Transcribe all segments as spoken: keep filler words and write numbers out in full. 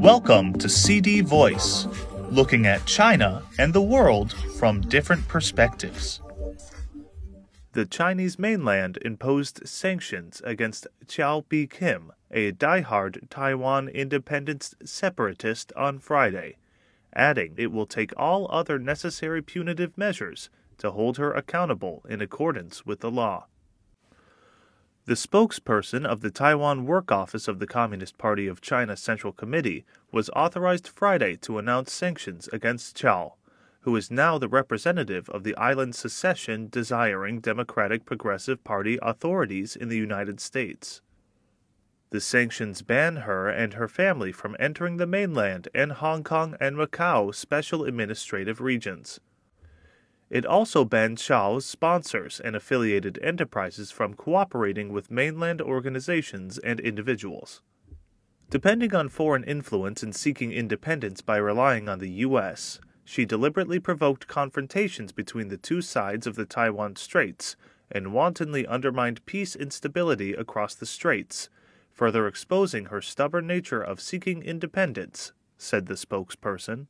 Welcome to C D Voice, looking at China and the world from different perspectives. The Chinese mainland imposed sanctions against Qiao Bi-khim, a die-hard Taiwan independence separatist, on Friday, adding it will take all other necessary punitive measures to hold her accountable in accordance with the law. The spokesperson of the Taiwan Work Office of the Communist Party of China Central Committee was authorized Friday to announce sanctions against Qiao, who is now the representative of the island secession-desiring Democratic Progressive Party authorities in the United States. The sanctions ban her and her family from entering the mainland and Hong Kong and Macau special administrative regions. It also banned Qiao's sponsors and affiliated enterprises from cooperating with mainland organizations and individuals. Depending on foreign influence in seeking independence by relying on the U S, she deliberately provoked confrontations between the two sides of the Taiwan Straits and wantonly undermined peace and stability across the straits, further exposing her stubborn nature of seeking independence, said the spokesperson.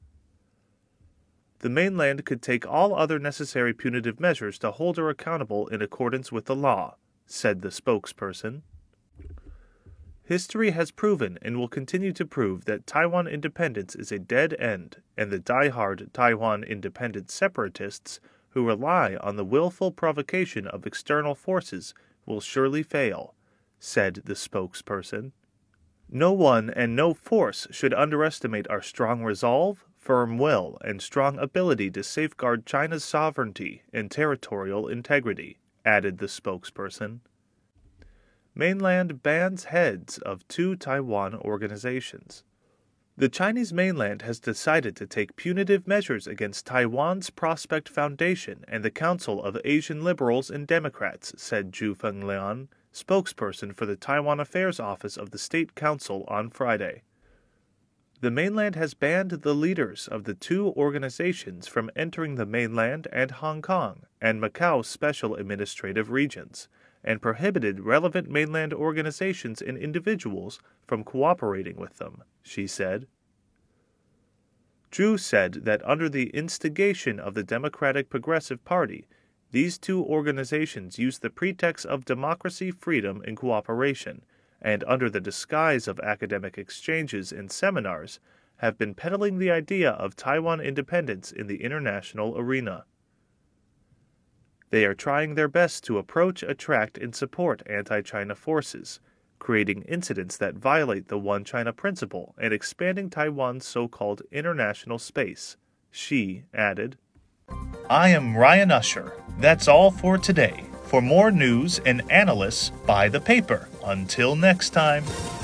The mainland could take all other necessary punitive measures to hold her accountable in accordance with the law, said the spokesperson. History has proven and will continue to prove that Taiwan independence is a dead end, and the die-hard Taiwan independence separatists who rely on the willful provocation of external forces will surely fail, said the spokesperson. No one and no force should underestimate our strong resolve, firm will, and strong ability to safeguard China's sovereignty and territorial integrity, added the spokesperson. Mainland bans heads of two Taiwan organizations. The Chinese mainland has decided to take punitive measures against Taiwan's Prospect Foundation and the Council of Asian Liberals and Democrats, said Zhu Fenglian, spokesperson for the Taiwan Affairs Office of the State Council, on Friday. The mainland has banned the leaders of the two organizations from entering the mainland and Hong Kong and Macau special administrative regions, and prohibited relevant mainland organizations and individuals from cooperating with them, she said. Zhu said that under the instigation of the Democratic Progressive Party, these two organizations used the pretext of democracy, freedom, and cooperation, and under the disguise of academic exchanges and seminars, have been peddling the idea of Taiwan independence in the international arena. They are trying their best to approach, attract, and support anti-China forces, creating incidents that violate the One China principle and expanding Taiwan's so-called international space, she added. I am Ryan Usher. That's all for today. For more news and analysis, buy the paper. Until next time.